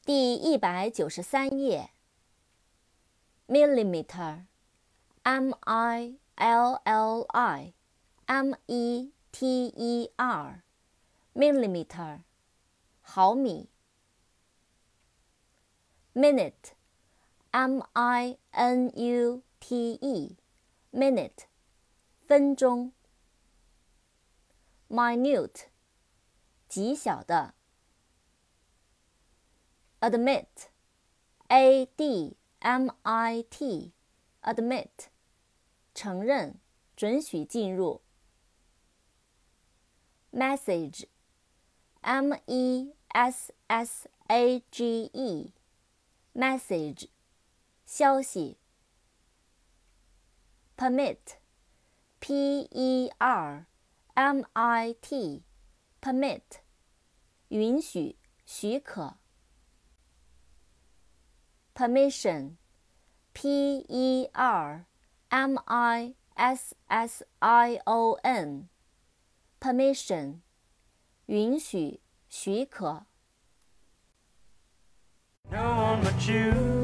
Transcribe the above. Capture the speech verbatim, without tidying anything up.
第一百九十三页。millimeter, M I L L I, M E T E R, millimeter, 毫米。minute, M I N U T E, minute, 分钟。minute, 极小的。admit, A D M I T, admit, 承认，准许进入。message, M E S S A G E, message, 消息。permit, P E R M I T, permit, 允许，许可。permission, P E R M I S S I O N, permission, 允许，许可。 No one but you